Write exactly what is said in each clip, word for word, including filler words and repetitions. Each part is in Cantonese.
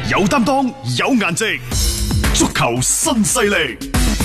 有擔當，有顏值，足球新勢力。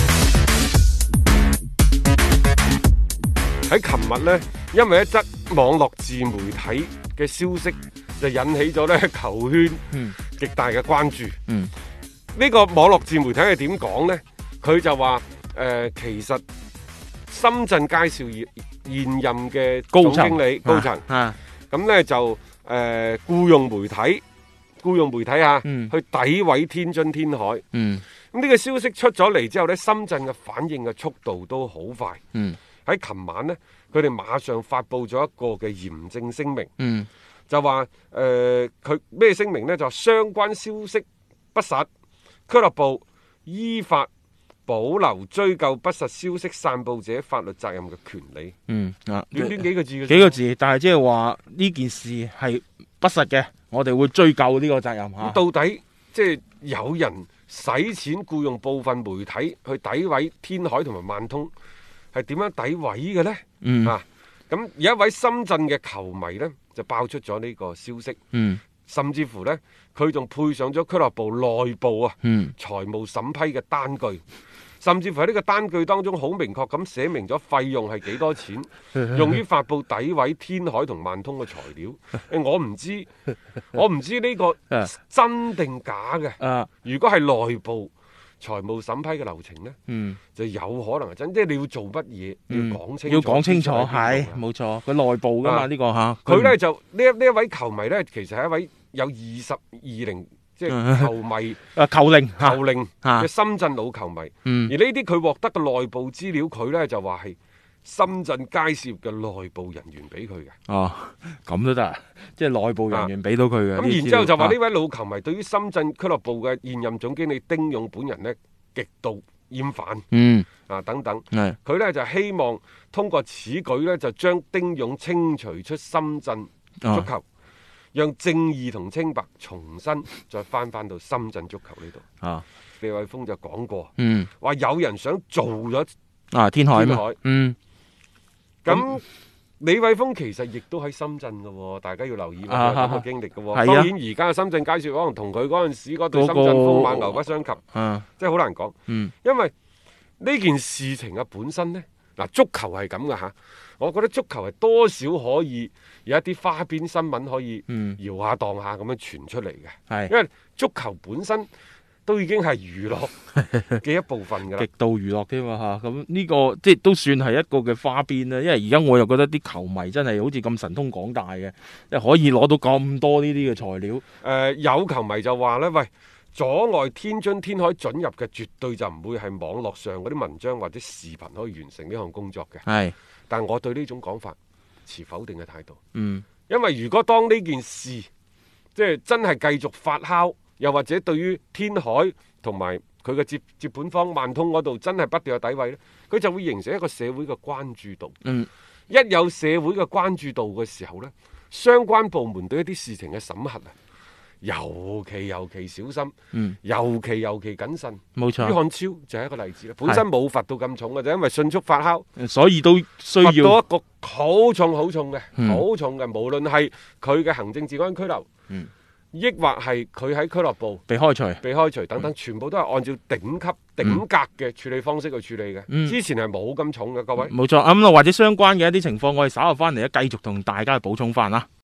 喺琴日呢，因為一則網絡自媒體嘅消息，就引起咗咧球圈極大嘅關注。 嗯， 呢個網絡自媒體係點講呢？佢就話誒、呃，其實深圳佳兆業現任嘅總經理高層，咁呢就誒僱用媒體。僱用媒體啊，嗯、去詆毀天津天海。咁呢、嗯、個消息出咗嚟之後呢，深圳嘅反應嘅速度都好快。喺琴、嗯、晚呢，佢哋馬上發布咗一個嘅嚴正聲明，嗯、就話誒佢咩聲明呢？就話相關消息不實，俱樂部依法保留追究不實消息散佈者法律責任嘅權利。嗯啊，短短幾個字嘅幾個字，但係即係話呢件事係不實嘅。我哋會追究呢個責任嚇。 到底即係有人使錢僱用部分媒體去詆毀天海同埋萬通，係點樣詆毀嘅呢？嗯啊，咁有一位深圳嘅球迷呢，就爆出咗呢個消息。嗯，甚至乎呢，佢仲配上咗俱樂部內部啊，嗯，財務審批嘅單據。甚至乎喺呢個單據當中好明確咁寫明咗費用係幾多錢，用於發布詆毀天海同萬通嘅材料。我唔知，我唔知呢個真定假嘅。如果係內部財務審批嘅流程呢，嗯、就有可能係真。即係你要做乜嘢，嗯、要講清楚。要講清楚， 係冇錯。佢內部㗎嘛呢、啊呢個嚇。 佢呢就呢一呢一位球迷呢，其實係一位有二十二零。即係球迷啊，球齡球齡嘅深圳老球迷，嗯、而呢啲佢獲得嘅內部資料，佢咧就話係深圳佳兆業嘅內部人員俾佢嘅。哦， 咁都得，即係內部人員俾到佢嘅。咁、 啊、然之後就話呢位老球迷對於深圳俱樂部嘅現任總經理丁勇本人呢，極度厭煩。嗯，啊等等，佢咧就希望通過此舉咧就將丁勇清除出深圳足球。啊，讓正義同清白重新再翻翻到深圳足球呢度。啊，李偉峰就講過，嗯，話有人想做咗啊天海嘛，嗯， 咁、嗯、李偉峰其實亦都喺深圳嘅，大家要留意咁嘅經歷嘅。啊、當然而家嘅深圳佳兆業可能同佢嗰陣時嗰對深圳風馬牛不相及，啊，即係好難講。嗯，因為呢件事情嘅本身呢，嗱，足球係咁嘅吓。我覺得足球係多少可以有一啲花邊新聞可以搖下蕩下咁樣傳出嚟嘅，嗯、因為足球本身都已經係娛樂嘅一部分㗎啦， 極度娛樂添嘛嚇。咁呢個即係都算係一個嘅花邊啦。因為而家我又覺得啲球迷真係好似咁神通廣大嘅，即係可以攞到咁多呢啲嘅材料。誒、 呃、有球迷就話咧，喂，阻礙天津天海准入嘅絕對就唔會係網絡上嗰啲文章或者視頻可以完成呢項工作嘅。係。但我對呢種講法持否定嘅態度。嗯，因為如果當呢件事即係真係繼續發酵，又或者對於天海同埋佢嘅接接盤方萬通嗰度真係不斷有詆毀咧，佢就會形成一個社會嘅關注度。嗯，一有社會嘅關注度嘅時候呢，相關部門對一啲事情嘅審核啊，尤其尤其小心，嗯，尤其尤其謹慎，冇錯。于漢超就係一個例子啦，本身冇罰到咁重嘅，就因為迅速發酵， 所以都需要罰到一個好重好重嘅，好、嗯、重嘅，無論係佢嘅行政治安拘留，嗯，抑或係佢喺俱樂部被開除、 被開除等等，嗯、全部都係按照頂級、頂格嘅處理方式去處理嘅。嗯、之前係冇咁重嘅，各位。 冇錯，咁、嗯、或者相關嘅一啲情況，我哋稍後翻嚟咧，繼續同大家去補充翻啦。